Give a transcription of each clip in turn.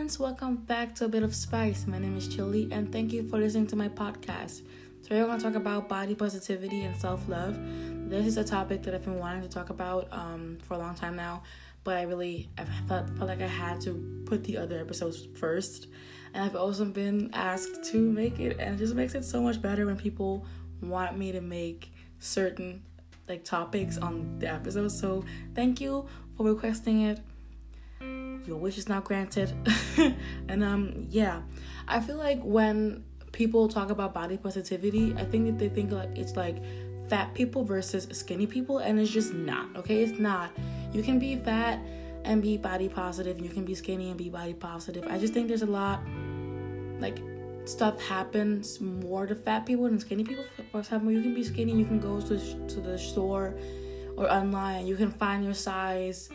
friends, welcome back to A Bit of Spice. My name is Chili, and thank you for listening to my podcast. Today we're going to talk about body positivity and self-love. This is a topic that I've been wanting to talk about for a long time now, but I felt like I had to put the other episodes first. And I've also been asked to make it, and it just makes it so much better when people want me to make certain topics on the episode. So thank you for requesting it. Your wish is now granted. And I feel like when people talk about body positivity, I think that they think it's like fat people versus skinny people, and it's just not. Okay, it's not. You can be fat and be body positive, you can be skinny and be body positive. I just think there's a lot stuff happens more to fat people than skinny people. For example, you can be skinny, you can go to the store or online, you can find your size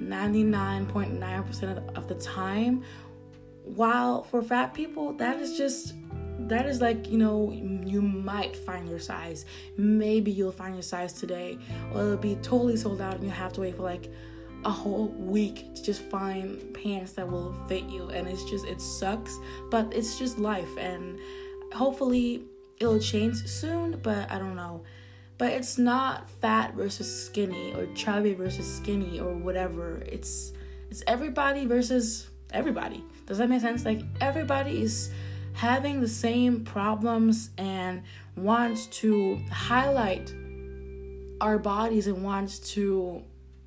99.9% of the time, while for fat people that is you might find your size. Maybe you'll find your size today, or it'll be totally sold out and you have to wait for a whole week to just find pants that will fit you. And it sucks, but it's just life, and hopefully it'll change soon, but I don't know. But it's not fat versus skinny or chubby versus skinny or whatever. It's everybody versus everybody. Does that make sense? Everybody is having the same problems and wants to highlight our bodies and wants to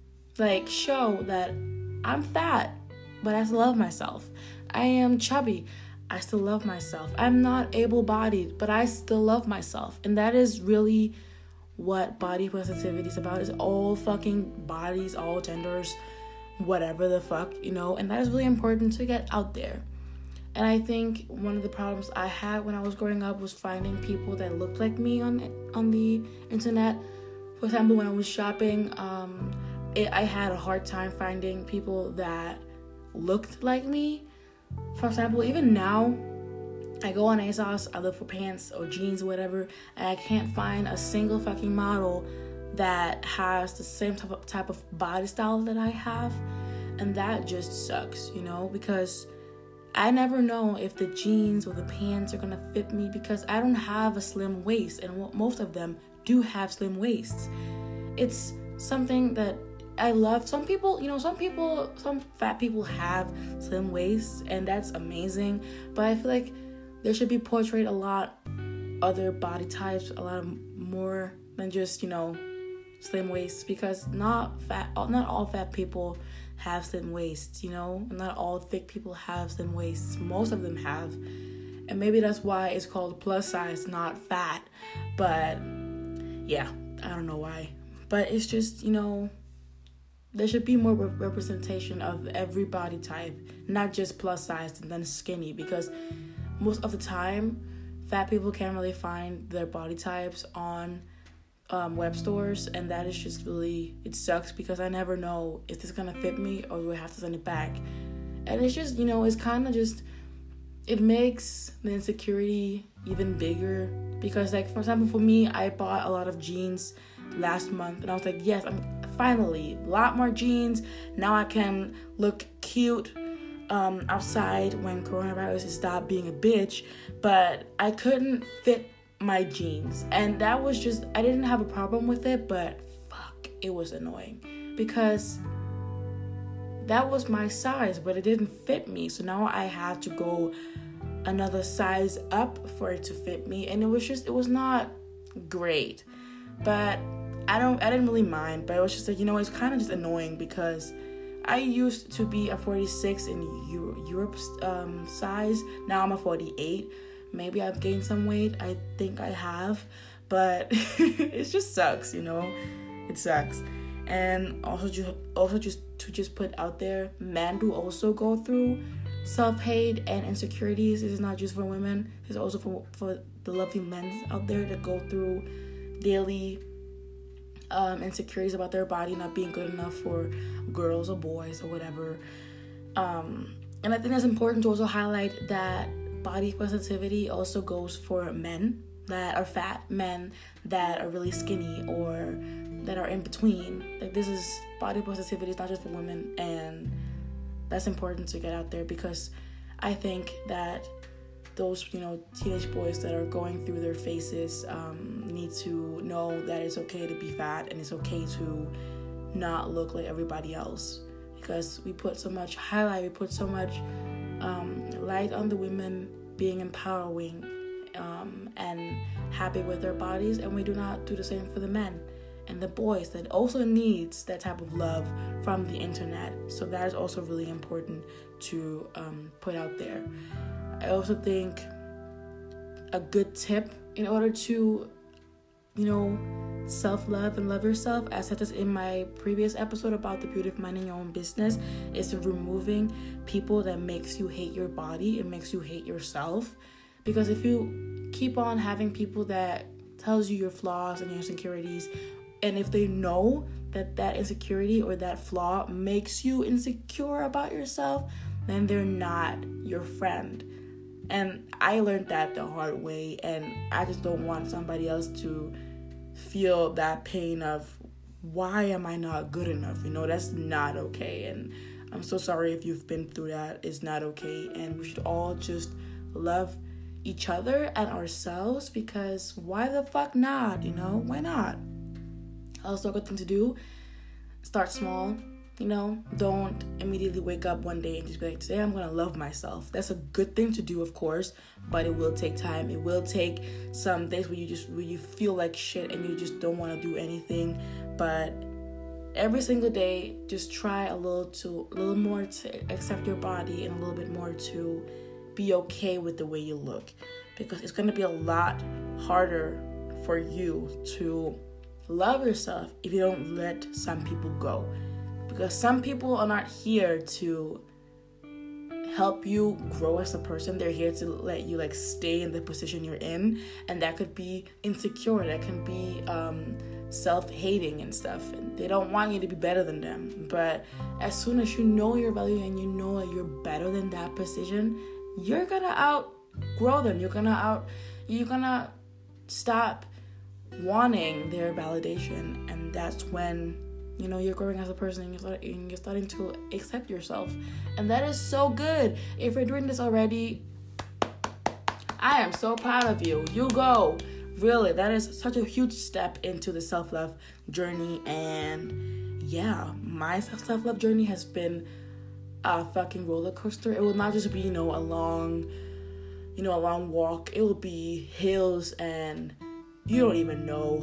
show that I'm fat, but I still love myself. I am chubby, I still love myself. I'm not able-bodied, but I still love myself. And that is really what body positivity is about. Is all fucking bodies, all genders, whatever the fuck, and that is really important to get out there. And I think one of the problems I had when I was growing up was finding people that looked like me on the internet. For example, when I was shopping, I had a hard time finding people that looked like me. For example, even now, I go on ASOS, I look for pants or jeans or whatever, and I can't find a single fucking model that has the same type of body style that I have. And that just sucks, because I never know if the jeans or the pants are gonna fit me, because I don't have a slim waist, and most of them do have slim waists. It's something that I love. Some fat people have slim waists, and that's amazing. But I feel like there should be portrayed a lot other body types, a lot more than just, slim waists, because not all fat people have slim waists, and not all thick people have slim waists. Most of them have, and maybe that's why it's called plus size, not fat. But yeah, I don't know why, but it's just, there should be more representation of every body type, not just plus size and then skinny, because most of the time fat people can't really find their body types on web stores, and that is just really, it sucks, because I never know if this is gonna fit me or do I have to send it back. And it's just, it's kind of just, it makes the insecurity even bigger, because for example, for me, I bought a lot of jeans last month, and I was like, yes, I'm finally a lot more jeans. Now I can look cute outside when coronavirus has stopped being a bitch. But I couldn't fit my jeans, and that was just, I didn't have a problem with it, but fuck, it was annoying, because that was my size, but it didn't fit me. So now I had to go another size up for it to fit me, and it was not great. But I didn't really mind, but it was just it's kind of just annoying, because I used to be a 46 in Europe's size. Now I'm a 48. Maybe I've gained some weight. I think I have, but it just sucks, It sucks. And also just to put out there, men do also go through self-hate and insecurities. This is not just for women. It's also for the lovely men out there that go through daily insecurities about their body not being good enough for girls or boys or whatever. And I think it's important to also highlight that body positivity also goes for men that are fat, men that are really skinny, or that are in between. This is body positivity is not just for women, and that's important to get out there, because I think that those, teenage boys that are going through their phases need to know that it's okay to be fat and it's okay to not look like everybody else, because we put so much highlight, we put so much light on the women being empowering and happy with their bodies, and we do not do the same for the men and the boys that also needs that type of love from the internet. So that is also really important to put out there. I also think a good tip in order to, self-love and love yourself, I said this in my previous episode about the beauty of minding your own business, is removing people that makes you hate your body. It makes you hate yourself. Because if you keep on having people that tells you your flaws and your insecurities, and if they know that insecurity or that flaw makes you insecure about yourself, then they're not your friend. And I learned that the hard way, and I just don't want somebody else to feel that pain of, why am I not good enough? That's not okay. And I'm so sorry if you've been through that. It's not okay. And we should all just love each other and ourselves, because why the fuck not? Why not? Also, a good thing to do, start small. Don't immediately wake up one day and just be like, today I'm gonna love myself. That's a good thing to do, of course, but it will take time. It will take some days where you feel like shit and you just don't want to do anything. But every single day, just try a little more to accept your body, and a little bit more to be okay with the way you look, because it's gonna be a lot harder for you to love yourself if you don't let some people go. Because some people are not here to help you grow as a person. They're here to let you stay in the position you're in, and that could be insecure, that can be self-hating and stuff, and they don't want you to be better than them. But as soon as you know your value and you know that you're better than that position, you're gonna outgrow them. You're gonna stop wanting their validation, and that's when you're growing as a person, and you're starting to accept yourself. And that is so good. If you're doing this already, I am so proud of you. You go. Really, that is such a huge step into the self-love journey. And yeah, my self-love journey has been a fucking roller coaster. It will not just be, a long walk. It will be hills, and you don't even know,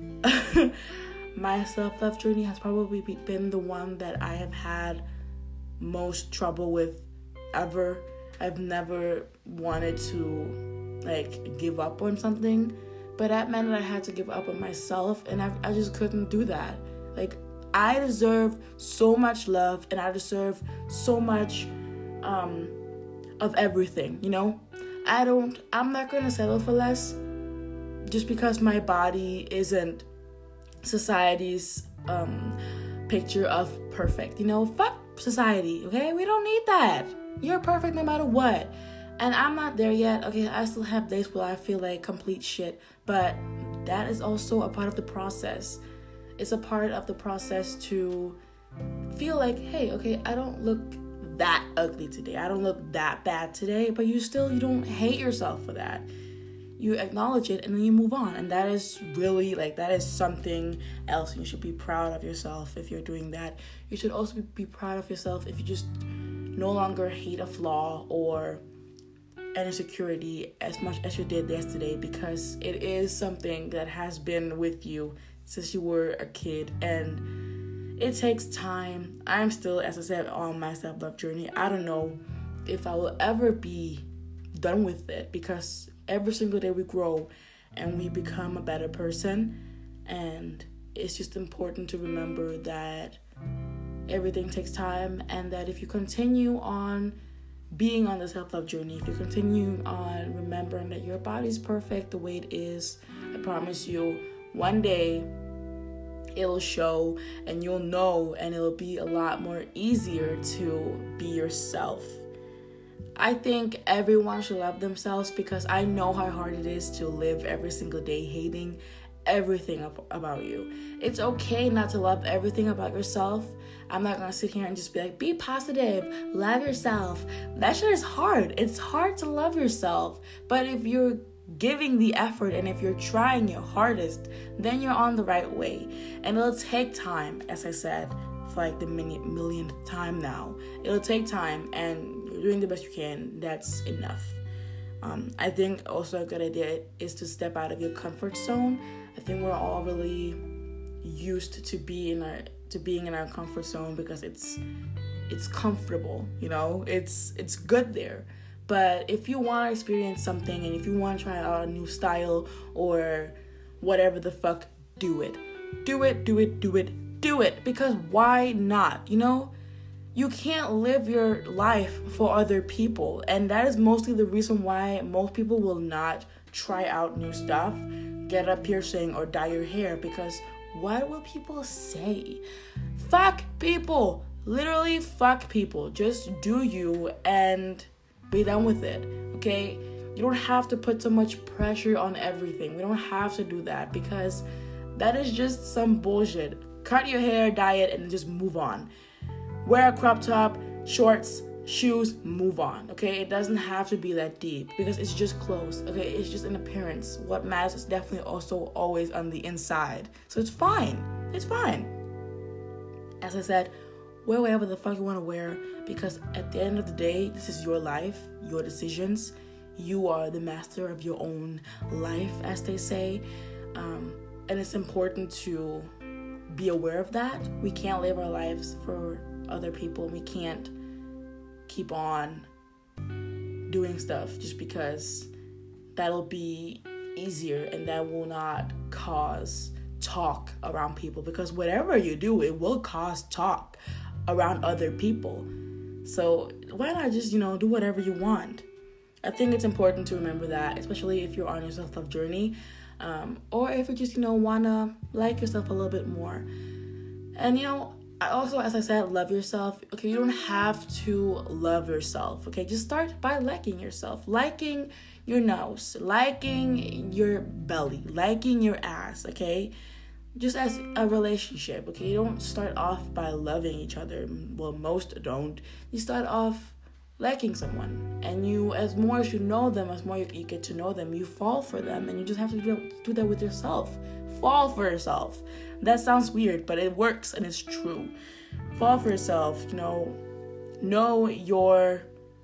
my self-love journey has probably been the one that I have had most trouble with ever. I've never wanted to give up on something, but that meant that I had to give up on myself, and I just couldn't do that. I deserve so much love, and I deserve so much of everything, I'm not gonna settle for less just because my body isn't society's picture of perfect. Fuck society, okay? We don't need that. You're perfect no matter what. And I'm not there yet. Okay, I still have days where I feel like complete shit, but that is also a part of the process. It's a part of the process to feel like, hey, okay, I don't look that ugly today. I don't look that bad today, but you don't hate yourself for that. You acknowledge it, and then you move on. And that is really, that is something else. You should be proud of yourself if you're doing that. You should also be proud of yourself if you just no longer hate a flaw or an insecurity as much as you did yesterday, because it is something that has been with you since you were a kid, and it takes time. I'm still, as I said, on my self-love journey. I don't know if I will ever be done with it, because every single day we grow and we become a better person, and it's just important to remember that everything takes time, and that if you continue on being on the self-love journey, if you continue on remembering that your body's perfect the way it is, I promise you, one day it'll show, and you'll know, and it'll be a lot more easier to be yourself. I think everyone should love themselves, because I know how hard it is to live every single day hating everything about you. It's okay not to love everything about yourself. I'm not gonna sit here and just be like, be positive, love yourself. That shit is hard. It's hard to love yourself. But if you're giving the effort and if you're trying your hardest, then you're on the right way. And it'll take time, as I said, for like the millionth time now. It'll take time, and you're doing the best you can. That's enough. I think also a good idea is to step out of your comfort zone. I think we're all really used to being in our comfort zone because it's comfortable, you know. It's good there. But if you want to experience something, and if you want to try out a new style or whatever the fuck, do it. Do it. Because why not? You know, you can't live your life for other people. And that is mostly the reason why most people will not try out new stuff, get a piercing, or dye your hair. Because what will people say? Fuck people. Literally fuck people. Just do you and be done with it, okay? You don't have to put so much pressure on everything. We don't have to do that because that is just some bullshit. Cut your hair, dye it, and just move on. Wear a crop top, shorts, shoes, move on, okay? It doesn't have to be that deep because it's just clothes, okay? It's just an appearance. What matters is definitely also always on the inside. So it's fine. It's fine. As I said, wear whatever the fuck you want to wear because at the end of the day, this is your life, your decisions. You are the master of your own life, as they say. And it's important to be aware of that. We can't live our lives for other people. We can't keep on doing stuff just because that'll be easier and that will not cause talk around people, because whatever you do, it will cause talk around other people. So why not just, do whatever you want? I think it's important to remember that, especially if you're on your self-love journey, or if you just, want to like yourself a little bit more. And, I also, as I said, love yourself. Okay, you don't have to love yourself. Okay, just start by liking yourself. Liking your nose, liking your belly, liking your ass, okay? Just as a relationship, okay? You don't start off by loving each other. Well, most don't. You start off liking someone. And as more as you know them, as more you get to know them, you fall for them. And you just have to do that with yourself. Fall for yourself. That sounds weird, but it works and it's true. Fall for yourself, know your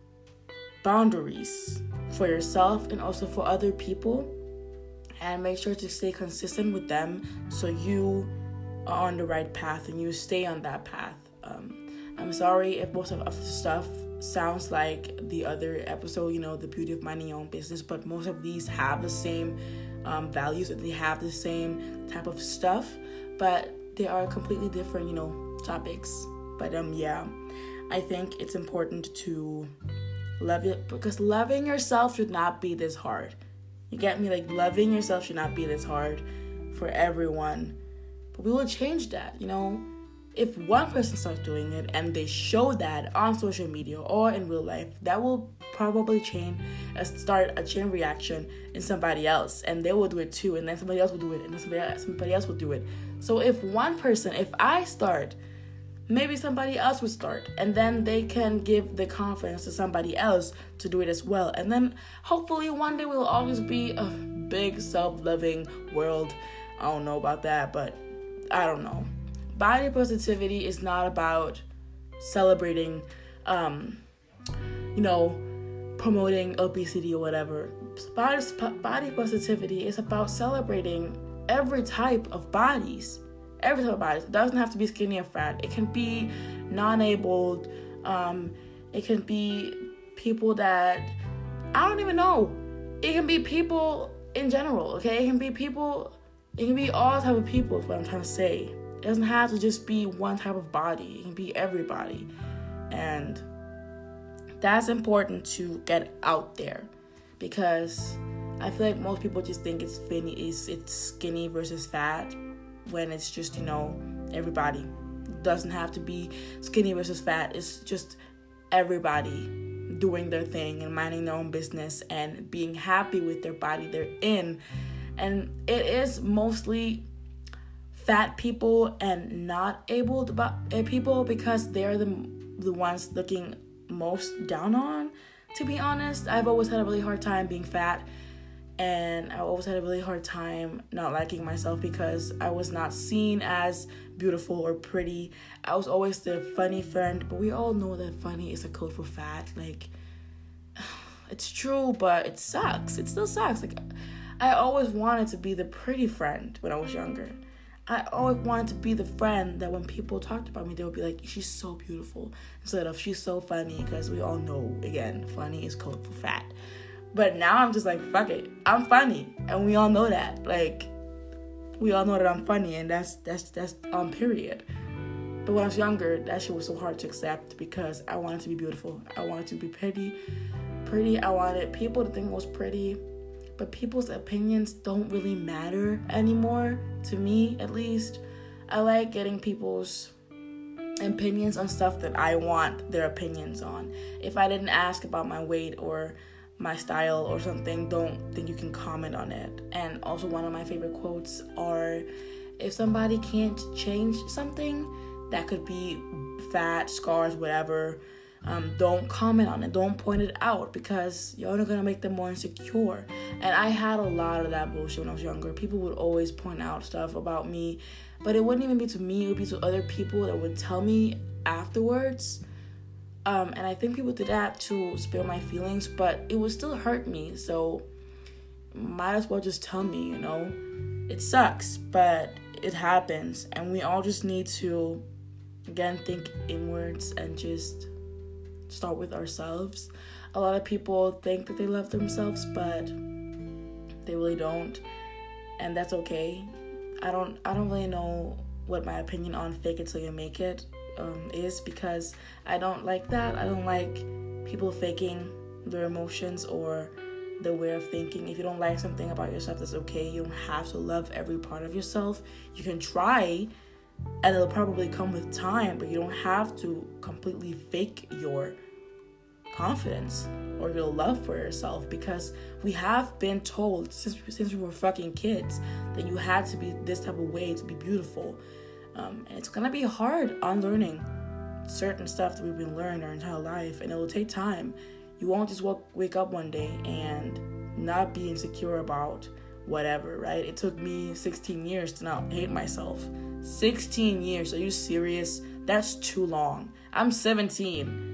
boundaries for yourself and also for other people, and make sure to stay consistent with them so you are on the right path and you stay on that path. I'm sorry if most of the stuff sounds like the other episode, the beauty of minding your own business, but most of these have the same values, and they have the same type of stuff, but they are completely different, topics. But yeah, I think it's important to love it, because loving yourself should not be this hard. You get me? Like, loving yourself should not be this hard for everyone. But we will change that, If one person starts doing it and they show that on social media or in real life, that will probably start a chain reaction in somebody else, and they will do it too, and then somebody else will do it, and then somebody else will do it. So if I start, maybe somebody else will start, and then they can give the confidence to somebody else to do it as well, and then hopefully one day we'll always be a big self-loving world. I don't know about that, but I don't know. Body positivity is not about celebrating, promoting obesity or whatever. Body positivity is about celebrating every type of bodies. Every type of bodies. It doesn't have to be skinny or fat. It can be non-abled. It can be people that, I don't even know. It can be people in general, okay? It can be all type of people is what I'm trying to say. It doesn't have to just be one type of body. It can be everybody. And that's important to get out there, because I feel like most people just think it's skinny versus fat, when it's just, everybody. It doesn't have to be skinny versus fat. It's just everybody doing their thing and minding their own business and being happy with their body they're in, And it is mostly fat people and not able people, because they're the ones looking most down on, to be honest. I've always had a really hard time being fat, and I always had a really hard time not liking myself because I was not seen as beautiful or pretty. I was always the funny friend, but we all know that funny is a code for fat. Like, it's true, but it sucks. It still sucks. Like, I always wanted to be the pretty friend when I was younger. I always wanted to be the friend that when people talked about me, they would be like, she's so beautiful, instead of she's so funny, because we all know, again, funny is code for fat. But now I'm just like, fuck it, I'm funny, and we all know that. Like, we all know that I'm funny, and that's period. But when I was younger, that shit was so hard to accept, because I wanted to be beautiful. I wanted to be pretty. I wanted people to think I was pretty. But people's opinions don't really matter anymore, to me at least. I like getting people's opinions on stuff that I want their opinions on. If I didn't ask about my weight or my style or something, don't think you can comment on it. And also, one of my favorite quotes are, if somebody can't change something, that could be fat, scars, whatever, don't comment on it, don't point it out, because you're only gonna make them more insecure. And I had a lot of that bullshit when I was younger. People would always point out stuff about me, but it wouldn't even be to me, it would be to other people that would tell me afterwards. And I think people did that to spare my feelings, but it would still hurt me, so might as well just tell me, you know. It sucks, but it happens, and we all just need to, again, think inwards and just start with ourselves. A lot of people think that they love themselves, but they really don't, and that's okay. I don't really know what my opinion on fake it till you make it is, because I don't like that. I don't like people faking their emotions or their way of thinking. If you don't like something about yourself, that's okay. You don't have to love every part of yourself. You can try, and it'll probably come with time, but you don't have to completely fake your confidence or your love for yourself, because we have been told since we were fucking kids that you had to be this type of way to be beautiful. And it's gonna be hard unlearning certain stuff that we've been learning our entire life, and it will take time. You won't just wake up one day and not be insecure about whatever, right? It took me 16 years to not hate myself. 16 years, are you serious? That's too long. I'm 17.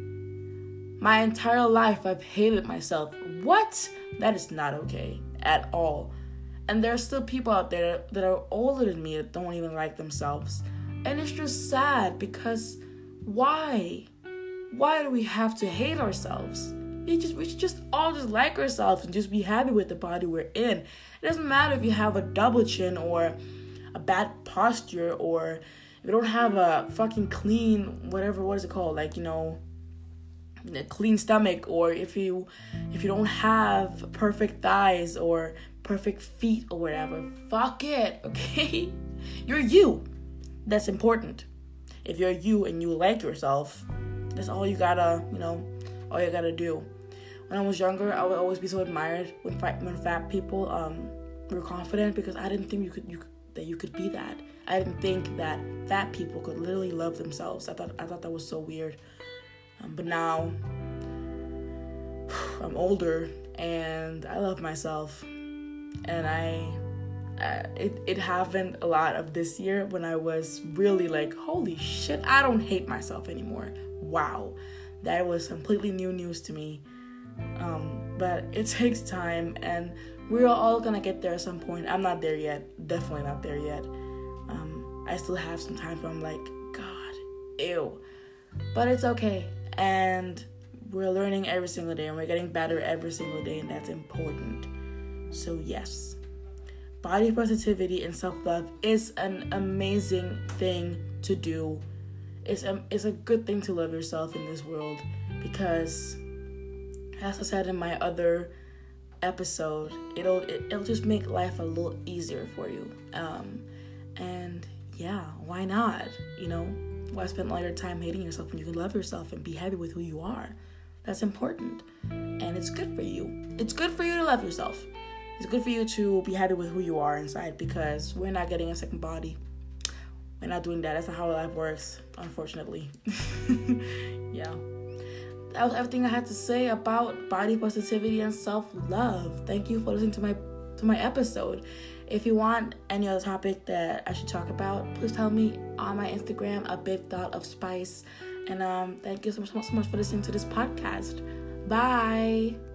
My entire life I've hated myself. What? That is not okay at all. And there are still people out there that are older than me that don't even like themselves. And it's just sad, because why? Why do we have to hate ourselves? We should just all just like ourselves and just be happy with the body we're in. It doesn't matter if you have a double chin or a bad posture, or if you don't have a fucking clean, what is it called? Like, you know, a clean stomach, or if you don't have perfect thighs or perfect feet or whatever. Fuck it, okay? You're you. That's important. If you're you and you like yourself, that's all you gotta, all you gotta do. When I was younger, I would always be so admired when fat people were confident, because I didn't think you could be that. I didn't think that fat people could literally love themselves. I thought that was so weird. But now I'm older and I love myself, and it happened a lot of this year when I was really like, holy shit, I don't hate myself anymore. Wow, that was completely new news to me. But it takes time, and we're all gonna get there at some point. I'm not there yet, definitely not there yet. I still have some time where I'm like, God, ew, but it's okay. And we're learning every single day, and we're getting better every single day, and that's important. So yes, body positivity and self-love is an amazing thing to do. It's a good thing to love yourself in this world, because, as I said in my other episode, it'll just make life a little easier for you. And yeah, why not? Why spend all your time hating yourself when you can love yourself and be happy with who you are? That's important. And it's good for you. It's good for you to love yourself. it's good for you to be happy with who you are inside, because we're not getting a second body. We're not doing that. That's not how life works, unfortunately. Yeah. That was everything I had to say about body positivity and self-love. Thank you for listening to my episode. If you want any other topic that I should talk about, please tell me on my Instagram, a big dot of spice. And thank you so much for listening to this podcast. Bye.